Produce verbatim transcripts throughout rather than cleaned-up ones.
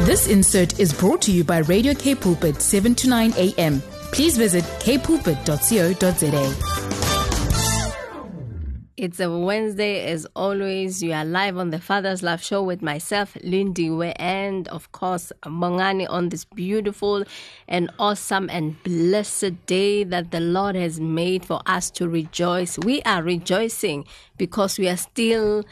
This insert is brought to you by Radio K Pulpit, seven to nine a.m. Please visit k pulpit dot co dot za. It's a Wednesday, as always. You are live on the Father's Love Show with myself, Lindiwe, and of course, Bongani, on this beautiful and awesome and blessed day that the Lord has made for us to rejoice. We are rejoicing because we are still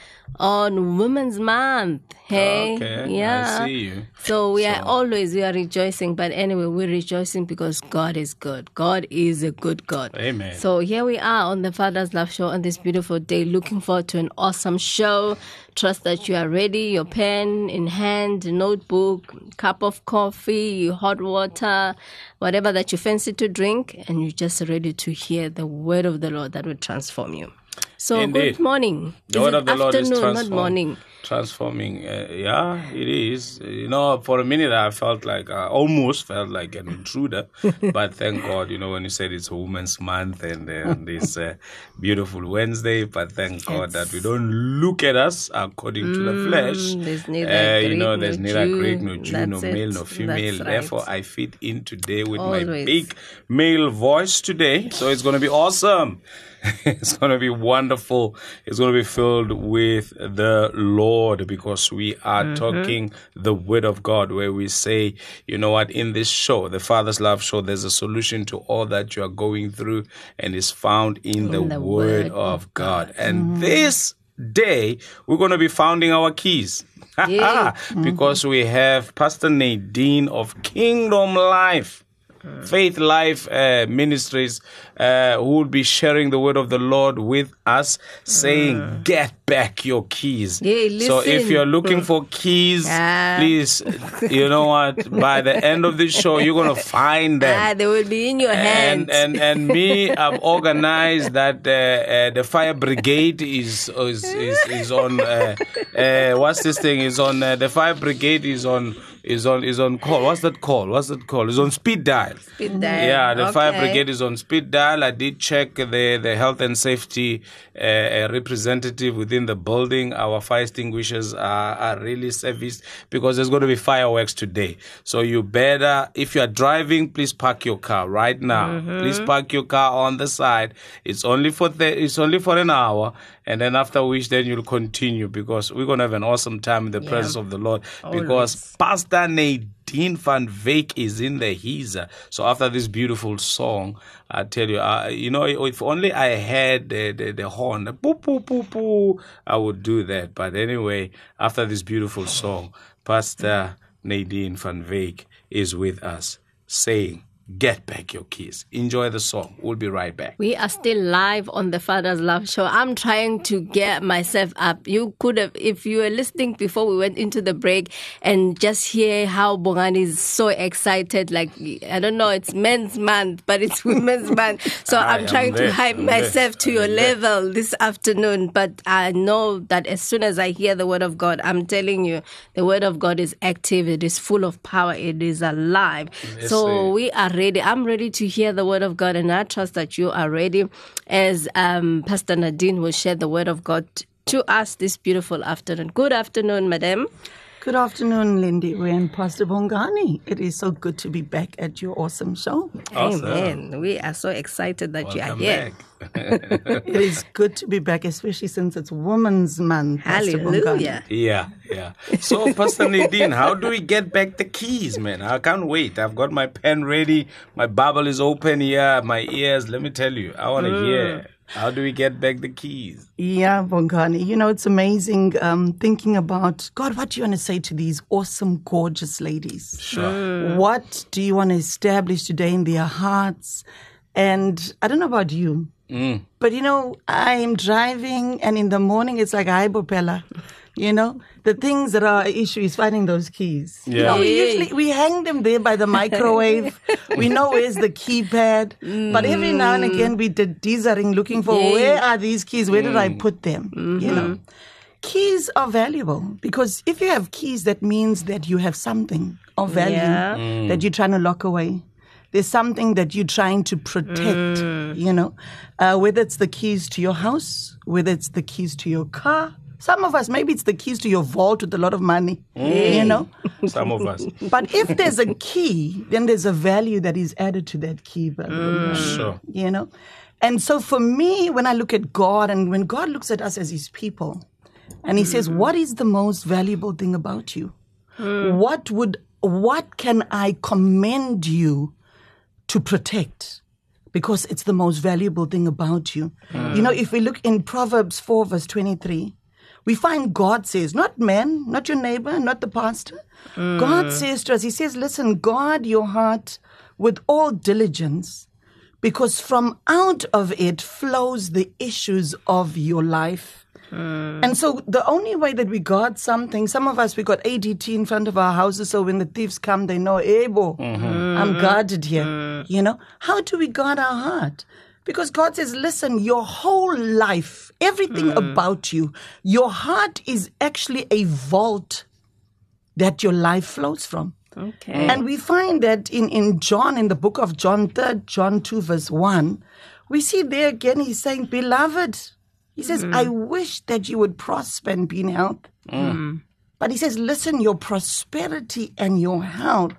on Women's Month. Hey, okay, yeah. I see you. So we so. are always, we are rejoicing. But anyway, we're rejoicing because God is good. God is a good God. Amen. So here we are on the Father's Love Show on this beautiful day. Looking forward to an awesome show. Trust that you are ready, your pen in hand, notebook, cup of coffee, hot water, whatever that you fancy to drink, and you're just ready to hear the word of the Lord that will transform you. So Indeed. good morning. The is word it of the Lord is afternoon, transform, not morning? transforming. Uh, yeah, it is. You know, for a minute I felt like, I almost felt like an intruder. But thank God, you know, when you said it's Women's Month and uh, this uh, beautiful Wednesday, but thank God It's, that we don't look at us according to the flesh. There's neither Uh, Greek you know, nor there's neither Jew. Greek nor Jew, That's nor it. male nor female. That's Therefore, right. I fit in today with my Always. big male voice today. So it's going to be awesome. It's going to be wonderful. It's going to be filled with the Lord because we are mm-hmm. talking the Word of God, where we say, you know what, in this show, the Father's Love Show, there's a solution to all that you are going through and is found in, in the, the Word, Word of God. God. And mm-hmm. this day, we're going to be founding our keys. Yeah. Because mm-hmm. we have Pastor Nadine of Kingdom Life. Faith Life uh, Ministries, uh, who will be sharing the word of the Lord with us, saying, mm. get back your keys. Yeah, listen. So if you're looking for keys, ah. please, you know what, by the end of the show, you're going to find them. Ah, they will be in your hands. And, and, and me, I've organized that uh, uh, the fire brigade is is, is, is on, uh, uh, what's this thing, is on, uh, the fire brigade is on, is on is on call. What's that call? What's that call? It's on speed dial. Speed dial. Yeah, the okay. fire brigade is on speed dial. I did check the, the health and safety uh, representative within the building. Our fire extinguishers are, are really serviced because there's going to be fireworks today. So you better, if you are driving, please park your car right now. Mm-hmm. Please park your car on the side. It's only for the, it's only for an hour. And then after which, then you'll continue because we're going to have an awesome time in the yeah. presence of the Lord. Always. Because Pastor Nadine van Wyk is in the Hiza. So after this beautiful song, I tell you, uh, you know, if only I had the, the, the horn, the poo, poo, poo, poo, I would do that. But anyway, after this beautiful song, Pastor Nadine van Wyk is with us saying, get back your keys. Enjoy the song. We'll be right back. We are still live on the Father's Love Show. I'm trying to get myself up. You could have, if you were listening before we went into the break and just hear how Bongani is so excited. Like, I don't know, it's Men's Month, but it's Women's Month. So I'm trying to hype myself to your level this afternoon. But I know that as soon as I hear the Word of God, I'm telling you, the Word of God is active. It is full of power. It is alive. Yes, so we are ready. I'm ready to hear the word of God, and I trust that you are ready as um, Pastor Nadine will share the word of God to us this beautiful afternoon. Good afternoon, madam. Good afternoon, Lindy and Pastor Bongani. It is so good to be back at your awesome show. Awesome. Amen. We are so excited that Welcome you are here. It is good to be back, especially since it's Women's Month. Hallelujah. Yeah, yeah. So, Pastor Nadine, how do we get back the keys, man? I can't wait. I've got my pen ready. My Bible is open here. My ears, let me tell you, I want to mm. hear. How do we get back the keys? Yeah, Bongani. You know, it's amazing um, thinking about, God, what do you want to say to these awesome, gorgeous ladies? Sure. Mm. What do you want to establish today in their hearts? And I don't know about you, mm. but, you know, I'm driving and in the morning it's like, hi, Bopella. You know, the things that are an issue is finding those keys. Yeah. You know, we usually, we hang them there by the microwave. We know where's the keypad. Mm. But every now and again we did dithering looking for yeah. where are these keys? Where mm. did I put them? Mm-hmm. You know, keys are valuable because if you have keys, that means that you have something of value yeah. mm. that you're trying to lock away. There's something that you're trying to protect, mm. you know, uh, whether it's the keys to your house, whether it's the keys to your car, Some of us, maybe it's the keys to your vault with a lot of money, mm. you know. Some of us. But if there's a key, then there's a value that is added to that key, brother. Mm. Sure. You know. And so for me, when I look at God and when God looks at us as his people, and he mm. says, what is the most valuable thing about you? Mm. What would, what can I commend you to protect? Because it's the most valuable thing about you. Mm. You know, if we look in Proverbs four, verse twenty-three, we find God says, not man, not your neighbor, not the pastor. Mm. God says to us, he says, listen, guard your heart with all diligence, because from out of it flows the issues of your life. Mm. And so the only way that we guard something, some of us, we got A D T in front of our houses, so when the thieves come, they know, hey, bo, mm-hmm. I'm guarded here. Mm. You know, how do we guard our heart? Because God says, listen, your whole life, everything mm. about you, your heart is actually a vault that your life flows from. Okay. And we find that in, in John, in the book of John, third John two, verse one, we see there again, he's saying, beloved, he says, mm. I wish that you would prosper and be in health. Mm. But he says, listen, your prosperity and your health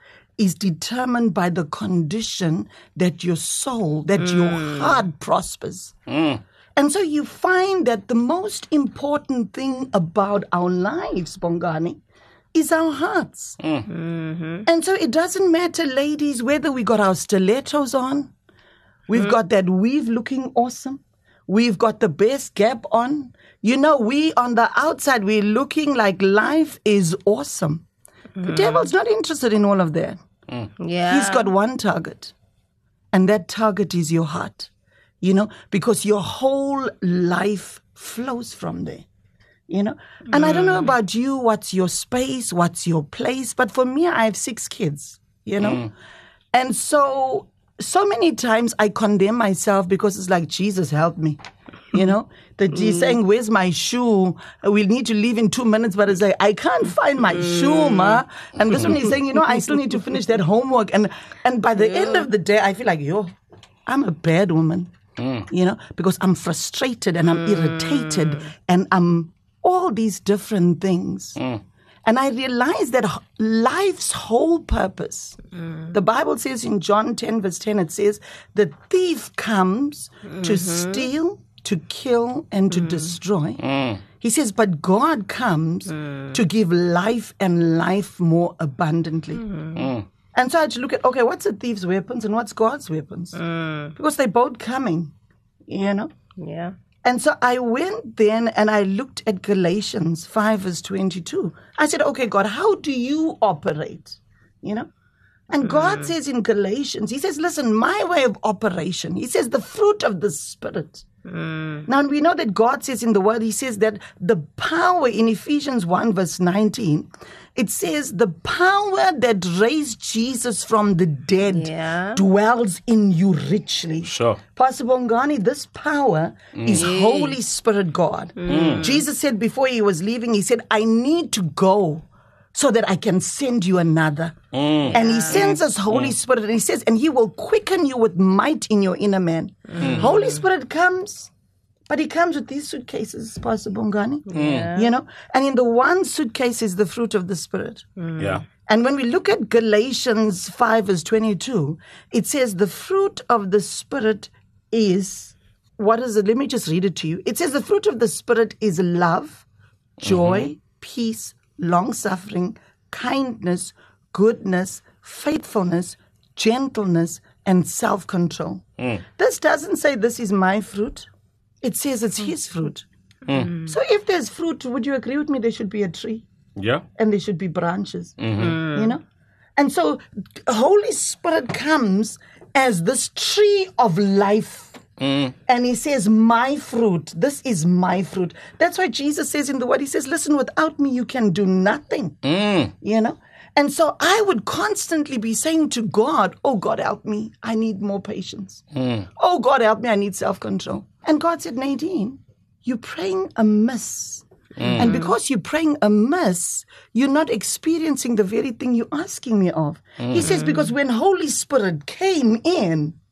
is determined by the condition that your soul, that mm. your heart prospers. Mm. And so you find that the most important thing about our lives, Bongani, is our hearts. Mm. Mm-hmm. And so it doesn't matter, ladies, whether we got our stilettos on, we've mm. got that weave looking awesome, we've got the best gap on. You know, we on the outside, we're looking like life is awesome. Mm. The devil's not interested in all of that. Mm. Yeah. He's got one target, and that target is your heart, you know, because your whole life flows from there, you know. And mm. I don't know about you, what's your space, what's your place, but for me, I have six kids, you know. Mm. And so, so many times I condemn myself because it's like, Jesus, help me. You know, that he's mm. saying, where's my shoe? We'll need to leave in two minutes. But it's like, I can't find my mm. shoe, ma. And this one he's saying, you know, I still need to finish that homework. And and by the yeah. end of the day, I feel like, yo, I'm a bad woman, mm. you know, because I'm frustrated and I'm mm. irritated and I'm all these different things. Mm. And I realize that life's whole purpose, mm. the Bible says in John ten, verse ten, it says, the thief comes mm-hmm. to steal, to kill, and to mm. destroy. Mm. He says, but God comes mm. to give life and life more abundantly. Mm. Mm. And so I had to look at, okay, what's a thief's weapons and what's God's weapons? Mm. Because they're both coming, you know? Yeah. And so I went then and I looked at Galatians five, verse twenty-two. I said, okay, God, how do you operate? You know? And mm. God says in Galatians, he says, listen, my way of operation, he says the fruit of the Spirit. Mm. Now, we know that God says in the Word, he says that the power in Ephesians one, verse nineteen, it says the power that raised Jesus from the dead yeah. dwells in you richly. Sure. Pastor Bongani, this power mm. is yeah. Holy Spirit God. Mm. Jesus said before he was leaving, he said, I need to go so that I can send you another. Mm. And he sends us Holy mm. Spirit, and he says, and he will quicken you with might in your inner man. Mm. Holy Spirit comes, but he comes with these suitcases, Pastor Bongani. Yeah. You know? And in the one suitcase is the fruit of the Spirit. Mm. Yeah. And when we look at Galatians five, verse twenty-two, it says the fruit of the Spirit is, what is it? Let me just read it to you. It says the fruit of the Spirit is love, joy, mm-hmm. peace, long-suffering, kindness, goodness, faithfulness, gentleness, and self-control. Mm. This doesn't say this is my fruit. It says it's his fruit. Mm. So if there's fruit, would you agree with me there should be a tree? Yeah. And there should be branches. Mm-hmm. You know? And so Holy Spirit comes as this tree of life. Mm. And he says, my fruit, this is my fruit. That's why Jesus says in the Word, he says, listen, without me, you can do nothing. Mm. You know? And so I would constantly be saying to God, oh, God, help me. I need more patience. Mm. Oh, God, help me. I need self-control. And God said, Nadine, you're praying amiss. Mm. And because you're praying amiss, you're not experiencing the very thing you're asking me of. Mm. He says, because when Holy Spirit came in,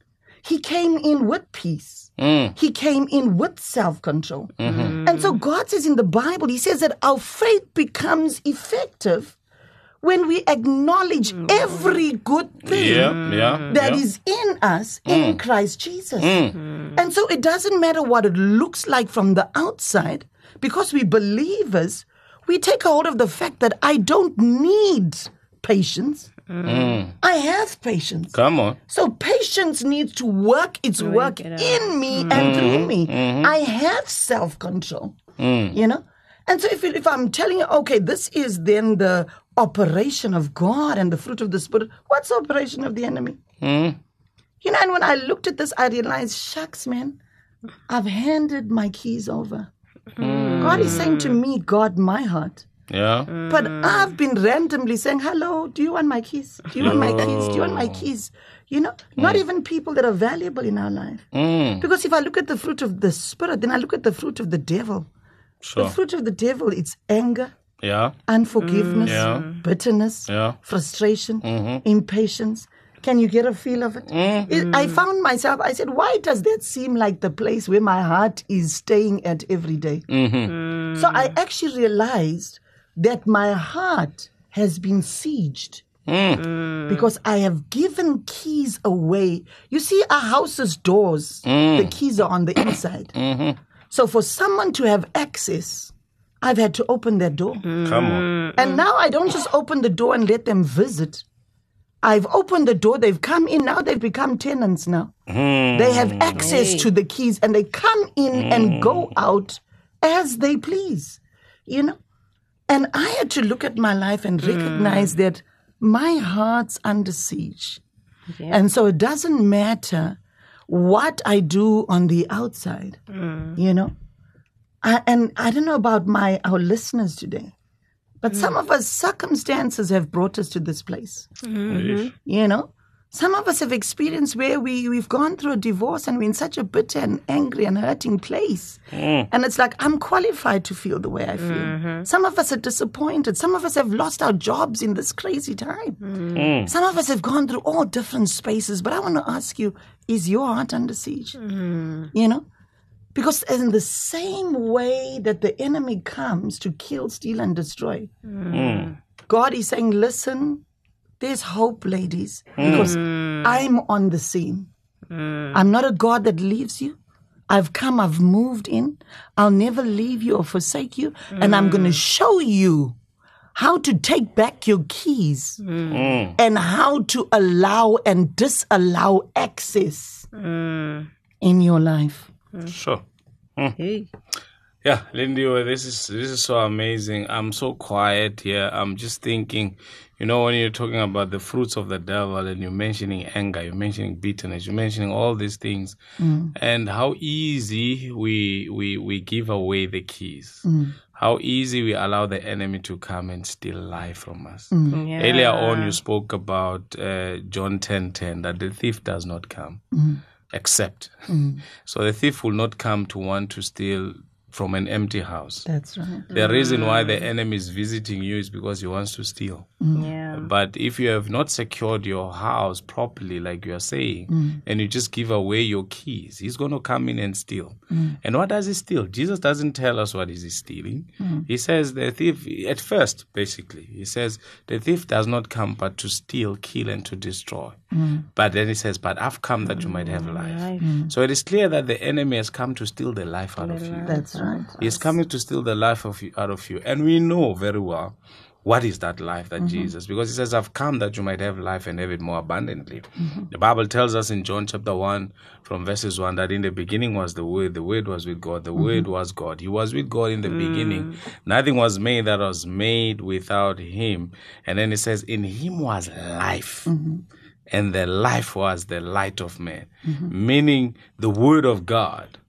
he came in with peace. Mm. He came in with self-control. Mm-hmm. And so God says in the Bible, he says that our faith becomes effective when we acknowledge every good thing Yeah, yeah, that yeah. is in us in Christ Jesus. And so it doesn't matter what it looks like from the outside, because we believers, we take hold of the fact that I don't need patience. Mm. I have patience. Come on. So patience needs to work its work it out. in me and through me. I have self-control, you know? And so if, if I'm telling you, okay, this is then the operation of God and the fruit of the Spirit, what's the operation of the enemy? Mm. You know, and when I looked at this, I realized, shucks, man, I've handed my keys over. God is saying to me, guard my heart. Yeah. But I've been randomly saying, hello, do you want my keys? Do you want my keys? Do you want my keys? You know, not even people that are valuable in our life. Mm. Because if I look at the fruit of the Spirit, then I look at the fruit of the devil. Sure. The fruit of the devil, it's anger, Yeah. unforgiveness, Yeah. bitterness, Yeah. frustration, impatience. Can you get a feel of it? it? I found myself, I said, why does that seem like the place where my heart is staying at every day? Mm-hmm. So I actually realized that my heart has been sieged Mm. because I have given keys away. You see, our house's doors, the keys are on the inside. Mm-hmm. So for someone to have access, I've had to open that door. Come on. And now I don't just open the door and let them visit. I've opened the door, they've come in, now they've become tenants now. Mm. They have access to the keys and they come in and go out as they please, you know. And I had to look at my life and recognize that my heart's under siege. And so it doesn't matter what I do on the outside, you know. I, and I don't know about my our listeners today, but some of us, circumstances have brought us to this place, Yeesh. you know. Some of us have experienced where we, we've gone through a divorce and we're in such a bitter and angry and hurting place. Mm. And it's like, I'm qualified to feel the way I feel. Mm-hmm. Some of us are disappointed. Some of us have lost our jobs in this crazy time. Mm. Some of us have gone through all different spaces. But I want to ask you, is your heart under siege? Mm-hmm. You know? Because in the same way that the enemy comes to kill, steal, and destroy, Mm. God is saying, listen, there's hope, ladies, because I'm on the scene. I'm not a God that leaves you. I've come, I've moved in. I'll never leave you or forsake you. And I'm going to show you how to take back your keys Mm. and how to allow and disallow access in your life. Sure. Hey. Yeah, Lindy, well, this is this is so amazing. I'm so quiet here. I'm just thinking, you know, when you're talking about the fruits of the devil and you're mentioning anger, you're mentioning bitterness, you're mentioning all these things, and how easy we we we give away the keys. How easy we allow the enemy to come and steal life from us. Yeah. Earlier on, you spoke about uh, John ten ten, that the thief does not come except. So the thief will not come to want to steal from an empty house. That's right. The reason why the enemy is visiting you is because he wants to steal. Yeah. But if you have not secured your house properly, like you are saying, and you just give away your keys, he's going to come in and steal. And what does he steal? Jesus doesn't tell us what is he stealing. He says the thief, at first, basically, he says the thief does not come but to steal, kill, and to destroy. But then he says, but I've come that you might have life. Life. So it is clear that the enemy has come to steal the life out of you. That's right. He's coming to steal the life of you, out of you. And we know very well what is that life that Jesus, because he says, I've come that you might have life and have it more abundantly. The Bible tells us in John chapter one, from verses one, that in the beginning was the Word, the Word was with God, the Word was God. He was with God in the beginning. Nothing was made that was made without him. And then it says, in him was life. And the life was the light of man. Meaning the Word of God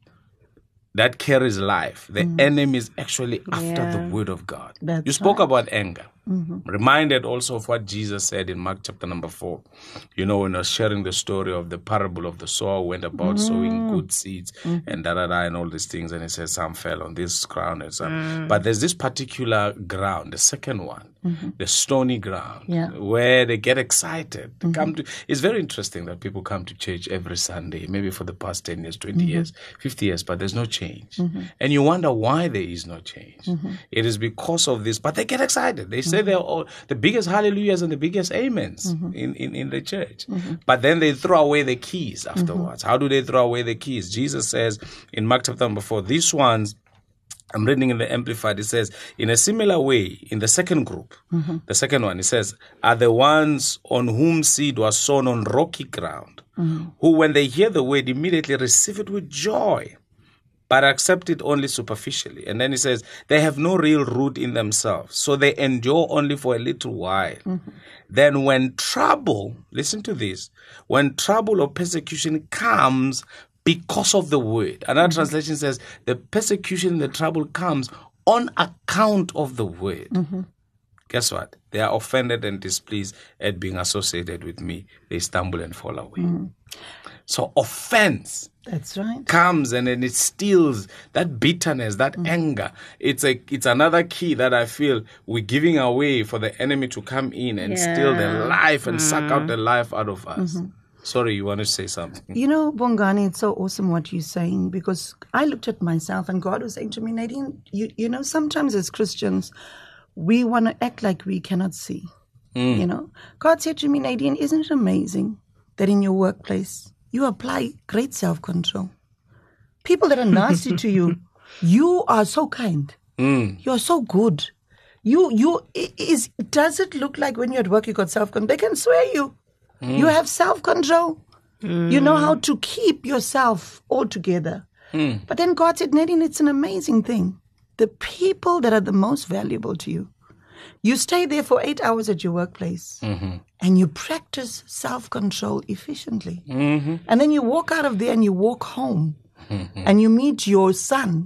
that carries life. The enemy is actually after Yeah. the Word of God. That's You spoke right. about anger. Mm-hmm. Reminded also of what Jesus said in Mark chapter number four. You know, when I was sharing the story of the parable of the sower who went about mm. sowing good seeds mm. and da da da and all these things, and he says some fell on this ground and some. Mm. But there's this particular ground, the second one, mm-hmm. the stony ground, yeah. where they get excited. They mm-hmm. come to. It's very interesting that people come to church every Sunday, maybe for the past ten years, twenty mm-hmm. years, fifty years, but there's no change, mm-hmm. and you wonder why there is no change. Mm-hmm. It is because of this, but they get excited. They say mm-hmm. they're all the biggest hallelujahs and the biggest amens mm-hmm. in, in, in the church. Mm-hmm. But then they throw away the keys afterwards. Mm-hmm. How do they throw away the keys? Jesus says in Mark chapter number four, these ones, I'm reading in the Amplified, it says, in a similar way, in the second group, mm-hmm. the second one, it says, are the ones on whom seed was sown on rocky ground, mm-hmm. who when they hear the word immediately receive it with joy, but accept it only superficially. And then he says, they have no real root in themselves, so they endure only for a little while. Mm-hmm. Then when trouble, listen to this, when trouble or persecution comes because of the word, another mm-hmm. translation says, the persecution, the trouble comes on account of the word. Mm-hmm. Guess what? They are offended and displeased at being associated with me. They stumble and fall away. Mm-hmm. So offense That's right. comes and then it steals that bitterness, that mm-hmm. anger. It's a it's another key that I feel we're giving away for the enemy to come in and yeah. steal the life and mm-hmm. suck out the life out of us. Mm-hmm. Sorry, you want to say something? You know, Bongani, it's so awesome what you're saying, because I looked at myself and God was saying to me, Nadine, you, you know, sometimes as Christians, we want to act like we cannot see. Mm. You know, God said to me, Nadine, isn't it amazing that in your workplace, you apply great self-control? People that are nasty to you, you are so kind. Mm. You're so good. You, you, is, does it look like when you're at work, you got self-control? They can swear you. Mm. You have self-control. Mm. You know how to keep yourself all together. Mm. But then God said, Nadine, it's an amazing thing. The people that are the most valuable to you, you stay there for eight hours at your workplace mm-hmm. and you practice self-control efficiently. Mm-hmm. And then you walk out of there and you walk home mm-hmm. and you meet your son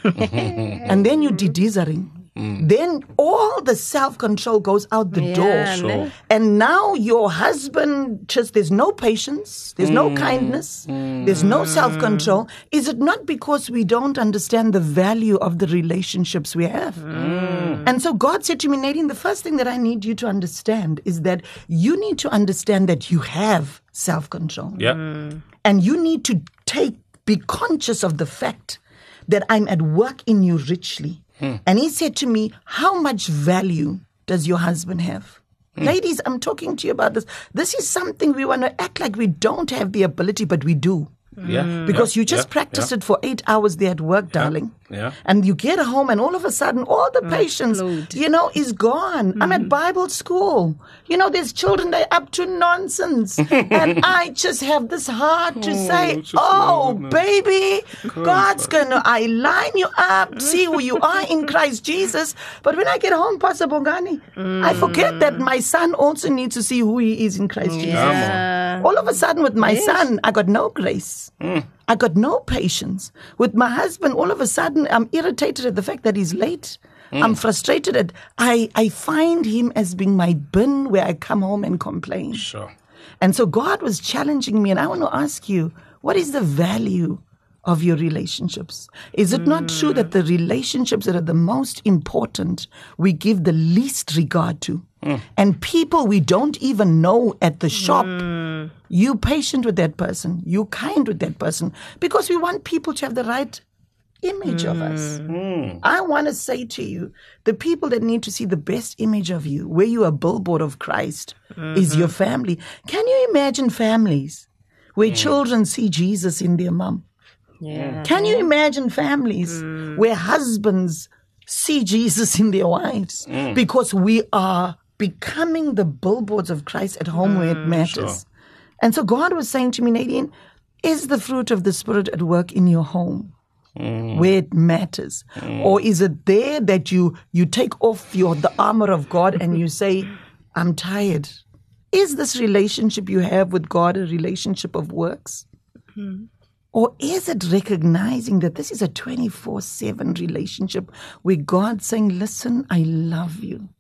and then you de-deezering. Mm. Then all the self-control goes out the yeah, door. Sure. And now your husband, just there's no patience, there's mm. no kindness, mm. there's no self-control. Is it not because we don't understand the value of the relationships we have? Mm. And so God said to me, Nadine, the first thing that I need you to understand is that you need to understand that you have self-control. Yeah. Mm. And you need to take, be conscious of the fact that I'm at work in you richly. Hmm. And he said to me, how much value does your husband have? Hmm. Ladies, I'm talking to you about this. This is something we want to act like we don't have the ability, but we do. Yeah. Because yeah. you just yeah. practiced yeah. it for eight hours there at work, yeah. darling. Yeah. And you get home and all of a sudden, all the patience, Upload. you know, is gone. Mm. I'm at Bible school. You know, there's children, they're up to nonsense. And I just have this heart to oh, say, oh, baby, God's going to, I line you up, see who you are in Christ Jesus. But when I get home, Pastor Bongani, mm. I forget that my son also needs to see who he is in Christ Jesus. Yeah. All of a sudden with my yes. son, I got no grace. Mm. I got no patience. With my husband, all of a sudden, I'm irritated at the fact that he's late. Mm. I'm frustrated at, I, I find him as being my bin where I come home and complain. Sure. And so God was challenging me, and I want to ask you, what is the value of your relationships? Is it mm. not true that the relationships that are the most important, we give the least regard to? Mm. And people we don't even know at the shop, mm. you patient with that person, you kind with that person, because we want people to have the right image mm. of us. Mm. I want to say to you, the people that need to see the best image of you, where you are a billboard of Christ, mm-hmm. is your family. Can you imagine families where mm. children see Jesus in their mom? Yeah. Can you imagine families mm. where husbands see Jesus in their wives? Mm. Because we are becoming the billboards of Christ at home mm, where it matters. Sure. And so God was saying to me, Nadine, is the fruit of the Spirit at work in your home mm. where it matters? Mm. Or is it there that you, you take off your the armor of God and you say, I'm tired? Is this relationship you have with God a relationship of works? Mm. Or is it recognizing that this is a twenty-four seven relationship where God's saying, listen, I love you.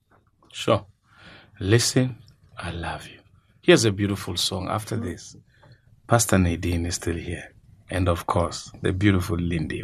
Sure. Listen, I love you. Here's a beautiful song. After this, Pastor Nadine is still here. And of course, the beautiful Lindy.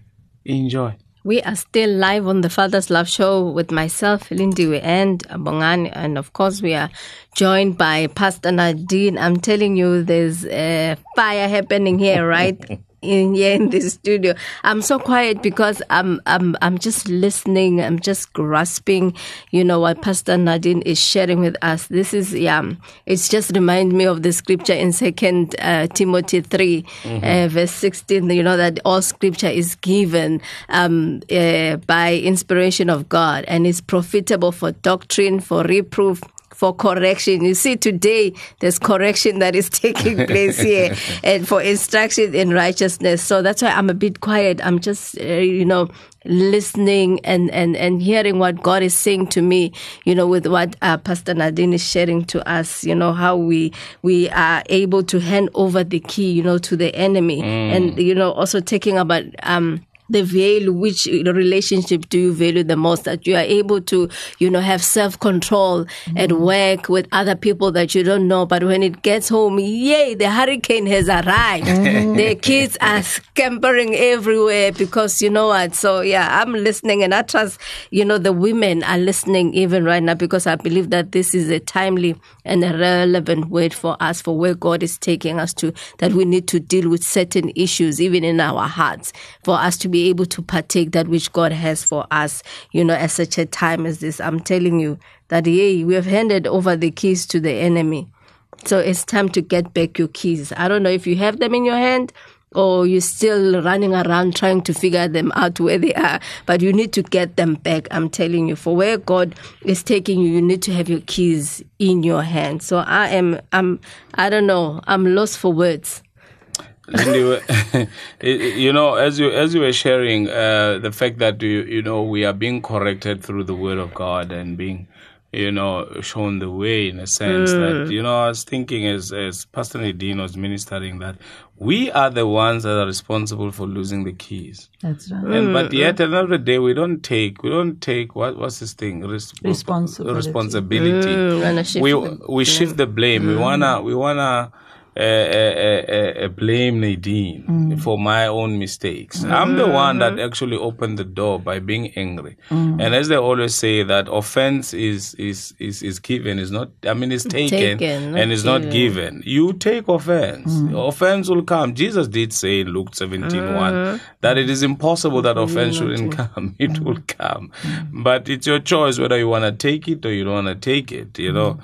Enjoy. We are still live on the Father's Love Show with myself, Lindiwe, and Bongani. And of course, we are joined by Pastor Nadine. I'm telling you, there's a fire happening here, right? in here in the studio. I'm so quiet because I'm I'm I'm just listening. I'm just grasping, you know, what Pastor Nadine is sharing with us. This is yeah. It's just remind me of the scripture in Second uh, Timothy three, mm-hmm. uh, verse sixteen. You know that all scripture is given um, uh, by inspiration of God and is profitable for doctrine, for reproof, for correction. You see, today there's correction that is taking place here, and for instruction in righteousness. So that's why I'm a bit quiet. I'm just, uh, you know, listening and, and, and hearing what God is saying to me, you know, with what uh, Pastor Nadine is sharing to us, you know, how we we are able to hand over the key, you know, to the enemy. Mm. And, you know, also taking about... um. the value, which relationship do you value the most, that you are able to, you know, have self-control mm-hmm. at work with other people that you don't know. But when it gets home, yay, the hurricane has arrived. Mm-hmm. The kids are scampering everywhere because, you know what, so yeah, I'm listening, and I trust, you know, the women are listening even right now, because I believe that this is a timely and a relevant word for us, for where God is taking us to, that we need to deal with certain issues, even in our hearts, for us to be able to partake that which God has for us, you know, at such a time as this. I'm telling you that, yay, we have handed over the keys to the enemy. So it's time to get back your keys. I don't know if you have them in your hand or you're still running around trying to figure them out where they are, but you need to get them back. I'm telling you, for where God is taking you, you need to have your keys in your hand. So I am, I'm, I don't know, I'm lost for words. You know, as you as you were sharing, uh, the fact that you you know we are being corrected through the Word of God and being, you know, shown the way, in a sense mm. that, you know, I was thinking as as Pastor Nadine was ministering that we are the ones that are responsible for losing the keys. That's right. And, but yet another day we don't take we don't take what what's this thing Res- responsibility. Responsibility. Mm, we we shift the blame. Mm. We wanna we wanna. Uh, uh, uh, uh, blame Nadine mm. for my own mistakes. Mm. I'm the one that actually opened the door by being angry. Mm. And as they always say, that offense is is is, is given, is not, I mean, it's taken, taken and it's not given. You take offense. Mm. Offense will come. Jesus did say in Luke seventeen mm. one that it is impossible that offense shouldn't come. It mm. will come. Mm. But it's your choice whether you want to take it or you don't want to take it, you know.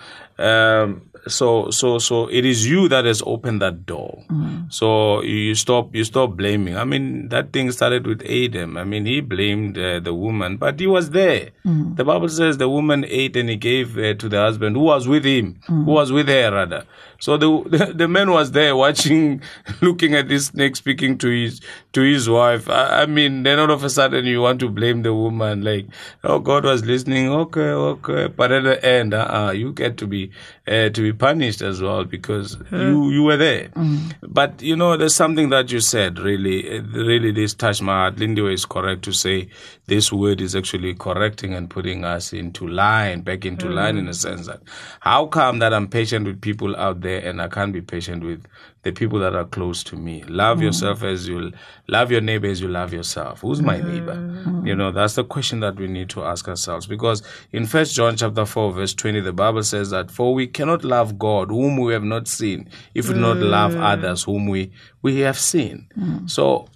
Um, So, so, so it is you that has opened that door. Mm. So you stop, you stop blaming. I mean, that thing started with Adam. I mean, he blamed uh, the woman, but he was there. Mm. The Bible says the woman ate and he gave uh, to the husband who was with him, mm. who was with her rather. So the, the the man was there watching, looking at this snake, speaking to his to his wife. I, I mean, then all of a sudden you want to blame the woman, like, oh, God was listening. Okay, okay, but at the end, uh, uh you get to be uh, to be punished as well because hmm. you you were there. Mm. But you know, there's something that you said really, really this touched my heart. Lindy is correct to say this word is actually correcting and putting us into line, back into mm. line, in a sense that how come that I'm patient with people out there and I can't be patient with the people that are close to me? Love mm. yourself as you love your neighbor as you love yourself. Who's my mm. neighbor? Mm. You know, that's the question that we need to ask ourselves, because in First John chapter four verse twenty, the Bible says that for we cannot love God whom we have not seen if we do not love others whom we we have seen. Mm. So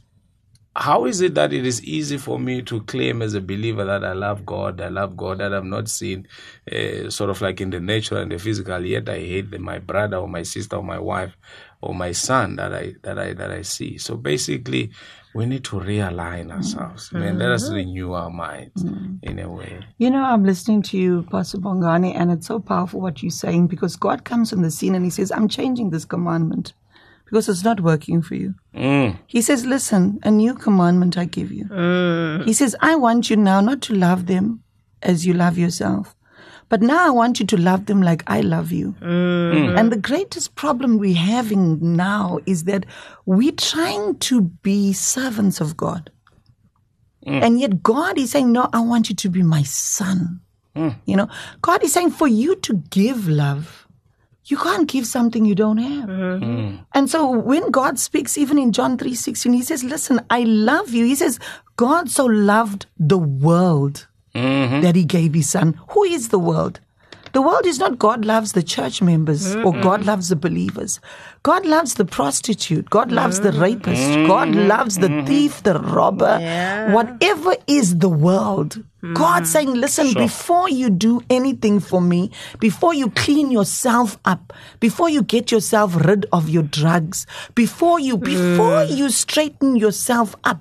how is it that it is easy for me to claim as a believer that I love God, I love God that I've not seen, uh, sort of like in the natural and the physical, yet I hate the, my brother or my sister or my wife or my son that I that I that I see? So basically, we need to realign ourselves. Mm-hmm. Man, let us renew our minds mm-hmm. in a way. You know, I'm listening to you, Pastor Bongani, and it's so powerful what you're saying, because God comes on the scene and he says, I'm changing this commandment because it's not working for you. Mm. He says, listen, a new commandment I give you. Mm. He says, I want you now not to love them as you love yourself, but now I want you to love them like I love you. Mm. And the greatest problem we're having now is that we're trying to be servants of God. Mm. And yet God is saying, no, I want you to be my son. Mm. You know, God is saying for you to give love, you can't give something you don't have. Mm-hmm. Mm. And so when God speaks, even in John three sixteen, he says, listen, I love you. He says, God so loved the world mm-hmm. that he gave his son. Who is the world? The world is not God loves the church members mm-hmm. or God loves the believers. God loves the prostitute. God loves mm-hmm. the rapist. Mm-hmm. God loves the mm-hmm. thief, the robber. Yeah. Whatever is the world. Mm-hmm. God saying, listen, sure. before you do anything for me, before you clean yourself up, before you get yourself rid of your drugs, before you, mm. before you straighten yourself up,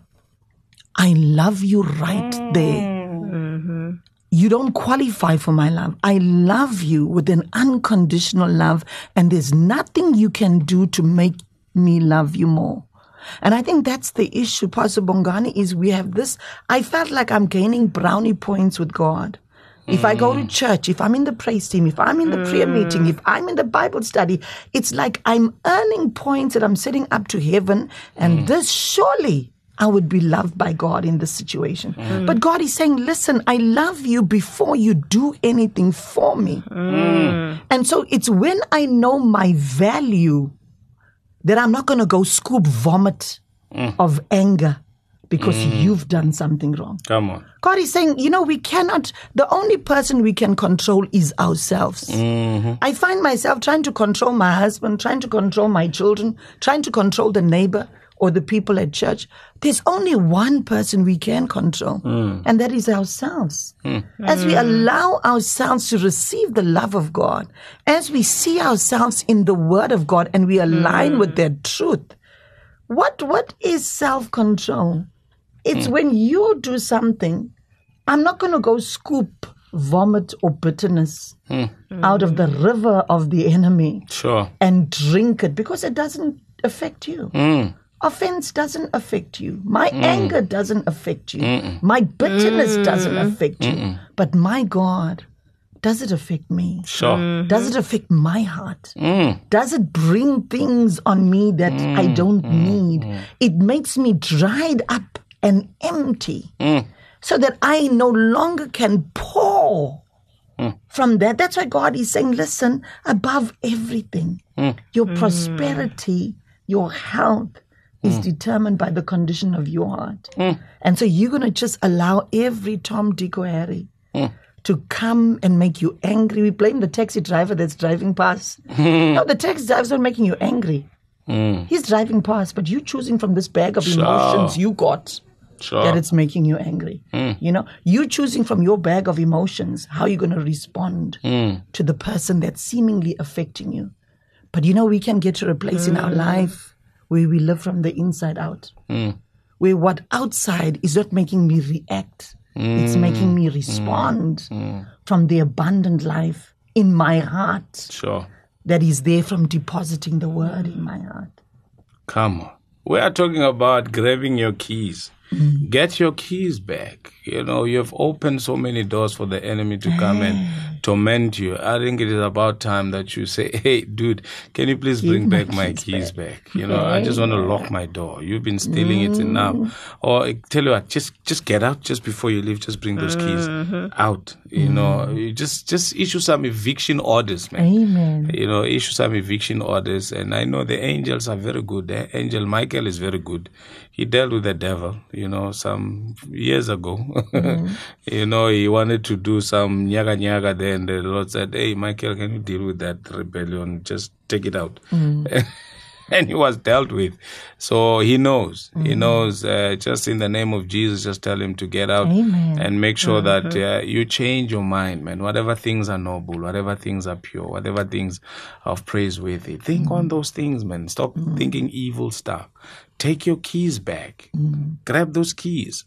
I love you right mm-hmm. there. Mm-hmm. You don't qualify for my love. I love you with an unconditional love, and there's nothing you can do to make me love you more. And I think that's the issue, Pastor Bongani, is we have this. I felt like I'm gaining brownie points with God. If I go to church, if I'm in the praise team, if I'm in the prayer meeting, if I'm in the Bible study, it's like I'm earning points that I'm setting up to heaven, and mm. this surely I would be loved by God in this situation. Mm. But God is saying, listen, I love you before you do anything for me. Mm. And so it's when I know my value that I'm not going to go scoop vomit mm. of anger because mm. you've done something wrong. Come on. God is saying, you know, we cannot, the only person we can control is ourselves. Mm-hmm. I find myself trying to control my husband, trying to control my children, trying to control the neighbor or the people at church. There's only one person we can control, mm. and that is ourselves. Mm. As we allow ourselves to receive the love of God, as we see ourselves in the Word of God and we align mm. with that truth, what what is self-control? It's mm. when you do something, I'm not going to go scoop vomit or bitterness mm. out of the river of the enemy sure. and drink it, because it doesn't affect you. Mm. Offense doesn't affect you. My mm. anger doesn't affect you. Mm-mm. My bitterness mm. doesn't affect you. Mm-mm. But my God, does it affect me? Sure. Mm-hmm. Does it affect my heart? Mm. Does it bring things on me that mm. I don't mm. need? Mm. It makes me dried up and empty mm. so that I no longer can pour mm. from that. That's why God is saying, listen, above everything, mm. your mm. prosperity, your health, is mm. determined by the condition of your heart. Mm. And so you're going to just allow every Tom, Dick, or Harry mm. to come and make you angry. We blame the taxi driver that's driving past. No, the taxi driver's not making you angry. Mm. He's driving past, but you're choosing from this bag of sure. emotions you got sure. that it's making you angry. Mm. You know, you're choosing from your bag of emotions how you're going to respond mm. to the person that's seemingly affecting you. But you know, we can get to a place mm. in our life where we live from the inside out, mm. where what outside is not making me react. Mm. It's making me respond mm. from the abundant life in my heart sure. that is there from depositing the word in my heart. Come on. We are talking about grabbing your keys. Mm. Get your keys back. You know, you have opened so many doors for the enemy to come and torment you. I think it is about time that you say, hey, dude, can you please bring back my keys back? back? You know, I just want to lock my door. You've been stealing mm. it enough. Or I tell you what, just just get out just before you leave. Just bring those keys mm-hmm. out. You mm. know, you just, just issue some eviction orders, man. Amen. You know, issue some eviction orders. And I know the angels are very good. The angel Michael is very good. He dealt with the devil, you know, some years ago. Mm. You know, he wanted to do some nyaga nyaga there, and the Lord said, hey, Michael, can you deal with that rebellion? Just take it out. Mm. And he was dealt with. So he knows. Mm. He knows. Uh, just in the name of Jesus, just tell him to get out. Amen. And make sure mm-hmm. that uh, you change your mind, man. Whatever things are noble, whatever things are pure, whatever things of praiseworthy, think mm. on those things, man. Stop mm. thinking evil stuff. Take your keys back. Mm. Grab those keys.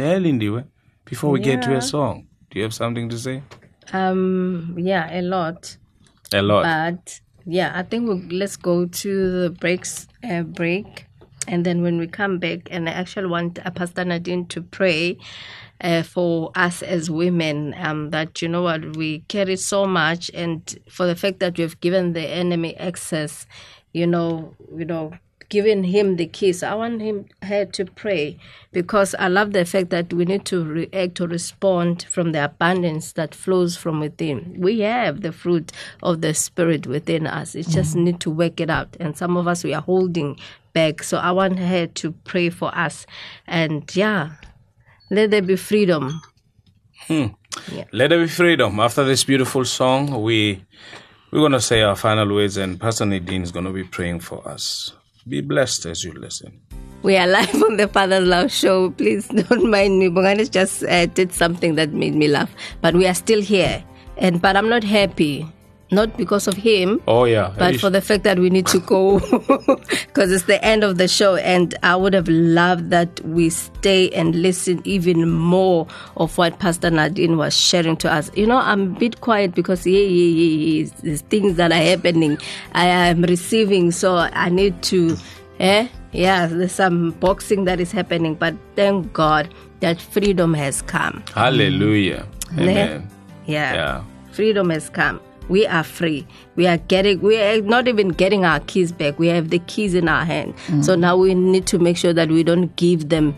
Before we yeah. get to a song, do you have something to say? Um, yeah, a lot. A lot. But yeah, I think we'll, let's go to the breaks uh, break, and then when we come back, and I actually want uh, Pastor Nadine to pray uh, for us as women. Um, that you know what, we carry so much, and for the fact that we've given the enemy access, you know, you know. given him the keys. I want him her to pray, because I love the fact that we need to react or respond from the abundance that flows from within. We have the fruit of the Spirit within us. It just mm. need to work it out. And some of us, we are holding back. So I want her to pray for us. And yeah, let there be freedom. Hmm. Yeah. Let there be freedom. After this beautiful song, we, we're going to say our final words, and Pastor Nadine is going to be praying for us. Be blessed as you listen. We are live on the Father's Love Show. Please don't mind me. Bongani just uh, did something that made me laugh. But we are still here. And But I'm not happy. Not because of him. Oh, yeah. But for the fact that we need to go. Because it's the end of the show. And I would have loved that we stay and listen even more of what Pastor Nadine was sharing to us. You know, I'm a bit quiet because, yeah, yeah, yeah, yeah, there's things that are happening. I am receiving. So I need to, eh? Yeah, there's some boxing that is happening. But thank God that freedom has come. Hallelujah. Amen. Yeah. yeah. Freedom has come. We are free. We are getting, we are not even getting our keys back. We have the keys in our hand. Mm. So now we need to make sure that we don't give them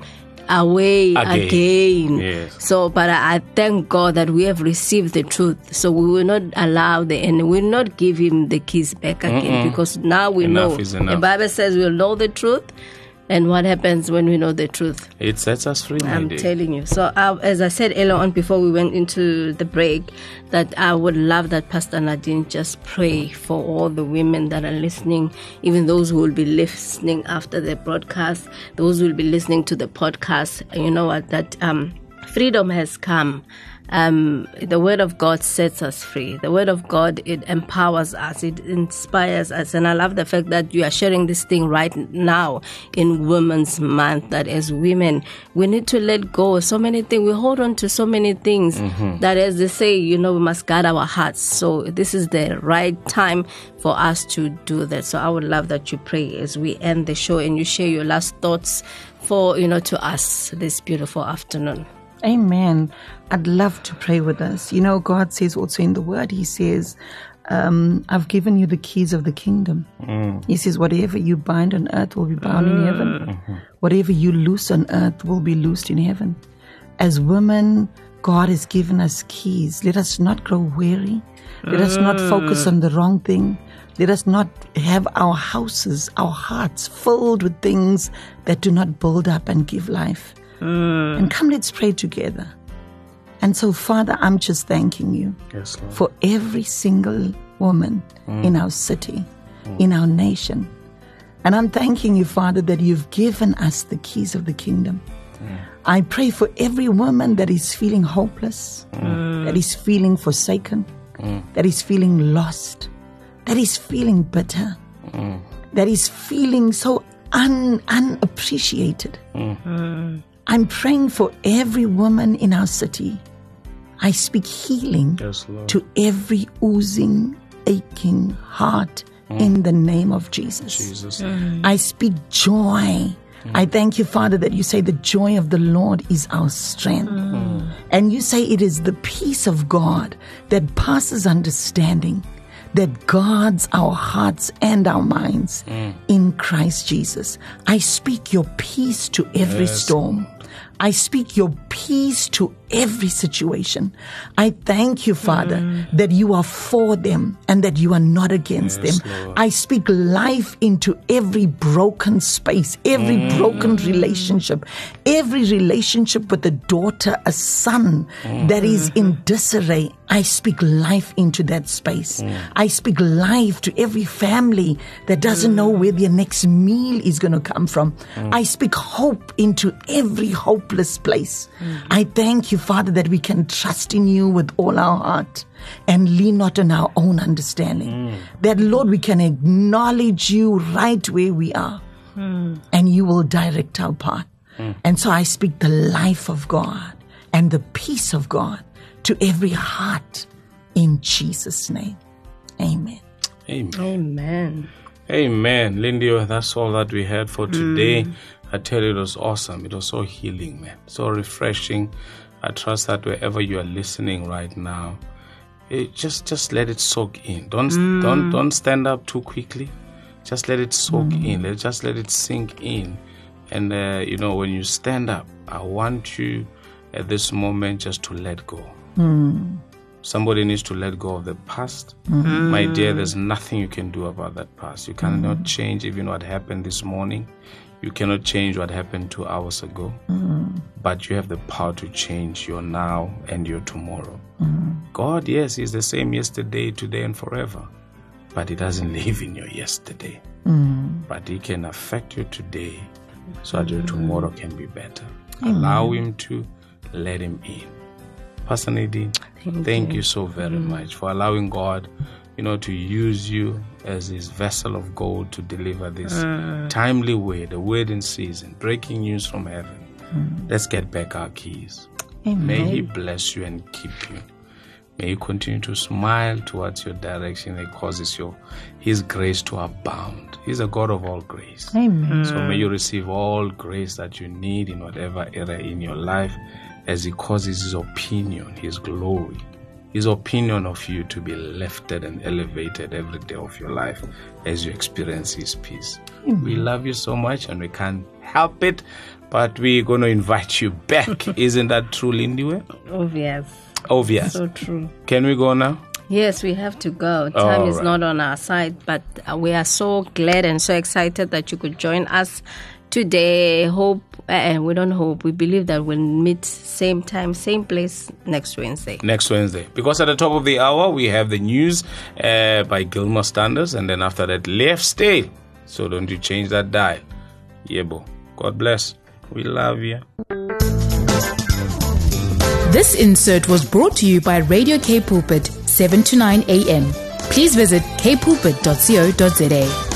away again. again. Yes. So, but I, I thank God that we have received the truth. So we will not allow the enemy, we will not give him the keys back again. Mm-mm. Because now we enough know. Is enough. The Bible says we'll know the truth. And what happens when we know the truth? It sets us free. I'm telling you. So uh, as I said earlier on before we went into the break, that I would love that Pastor Nadine just pray for all the women that are listening, even those who will be listening after the broadcast, those who will be listening to the podcast. You know what? That um, freedom has come. Um, the Word of God sets us free. The Word of God, it empowers us. It inspires us. And I love the fact that you are sharing this thing right now in Women's Month, that as women, we need to let go of so many things. We hold on to so many things mm-hmm. that, as they say, you know, we must guard our hearts. So this is the right time for us to do that. So I would love that you pray as we end the show and you share your last thoughts for, you know, to us this beautiful afternoon. Amen. I'd love to pray with us. You know, God says also in the Word, He says, um, I've given you the keys of the kingdom. Mm. He says, whatever you bind on earth will be bound mm. in heaven. Mm-hmm. Whatever you loose on earth will be loosed in heaven. As women, God has given us keys. Let us not grow weary. Let mm. us not focus on the wrong thing. Let us not have our houses, our hearts filled with things that do not build up and give life. Mm. And come, let's pray together. And so, Father, I'm just thanking you yes, Lord. for every single woman mm. in our city, mm. in our nation. And I'm thanking you, Father, that you've given us the keys of the kingdom. Mm. I pray for every woman that is feeling hopeless, mm. that is feeling forsaken, mm. that is feeling lost, that is feeling bitter, mm. that is feeling so un- unappreciated. Mm. Mm. I'm praying for every woman in our city. I speak healing yes, to every oozing, aching heart mm. in the name of Jesus. Jesus. Mm. I speak joy. Mm. I thank you, Father, that you say the joy of the Lord is our strength. Mm. And you say it is the peace of God that passes understanding, that guards our hearts and our minds mm. in Christ Jesus. I speak your peace to every yes. storm. I speak your peace to every situation. I thank you, Father, mm. that you are for them and that you are not against yes, them. Lord. I speak life into every broken space, every mm. broken relationship, every relationship with a daughter, a son mm. that is in disarray. I speak life into that space. Mm. I speak life to every family that doesn't mm. know where their next meal is going to come from. Mm. I speak hope into every hopeless place. Mm. I thank you, Father, that we can trust in you with all our heart and lean not on our own understanding. Mm. That, Lord, we can acknowledge you right where we are mm. and you will direct our path. Mm. And so I speak the life of God and the peace of God to every heart in Jesus' name. Amen. Amen. Amen. Amen. Lindy, that's all that we had for today. Mm. I tell you, it was awesome. It was so healing, man. So refreshing. I trust that wherever you are listening right now, it just just let it soak in. Don't mm. don't don't stand up too quickly. Just let it soak mm. in. Let just let it sink in. And uh, you know, when you stand up, I want you at this moment just to let go. Mm. Somebody needs to let go of the past. Mm. My dear, there's nothing you can do about that past. You cannot mm. change even what happened this morning. You cannot change what happened two hours ago. Mm. But you have the power to change your now and your tomorrow. Mm. God, yes, He's the same yesterday, today, and forever. But He doesn't live in your yesterday. Mm. But He can affect you today so that your tomorrow can be better. Mm. Allow Him to, let Him in. Pastor Nadine, thank, thank you. you so very mm. much for allowing God, you know, to use you as His vessel of gold to deliver this mm. timely word, a word in season, breaking news from heaven. Mm. Let's get back our keys. Amen. May He bless you and keep you. May He continue to smile towards your direction and causes your His grace to abound. He's a God of all grace. Amen. So may you receive all grace that you need in whatever area in your life, as He causes His opinion, His glory, His opinion of you to be lifted and elevated every day of your life as you experience His peace. Mm-hmm. We love you so much and we can't help it, but we're going to invite you back. Isn't that true, Lindiwe? Obvious. Obvious. So true. Can we go now? Yes, we have to go. Time All is right. not on our side, but uh, we are so glad and so excited that you could join us today. Hope, uh, we don't hope, we believe that we'll meet same time, same place next Wednesday. Next Wednesday. Because at the top of the hour, we have the news uh, by Gilmore Standards, and then after that, Left Stay. So don't you change that dial. Yebo. God bless. We love you. This insert was brought to you by Radio K Pulpit, seven to nine a.m. Please visit k pulpit dot co dot za.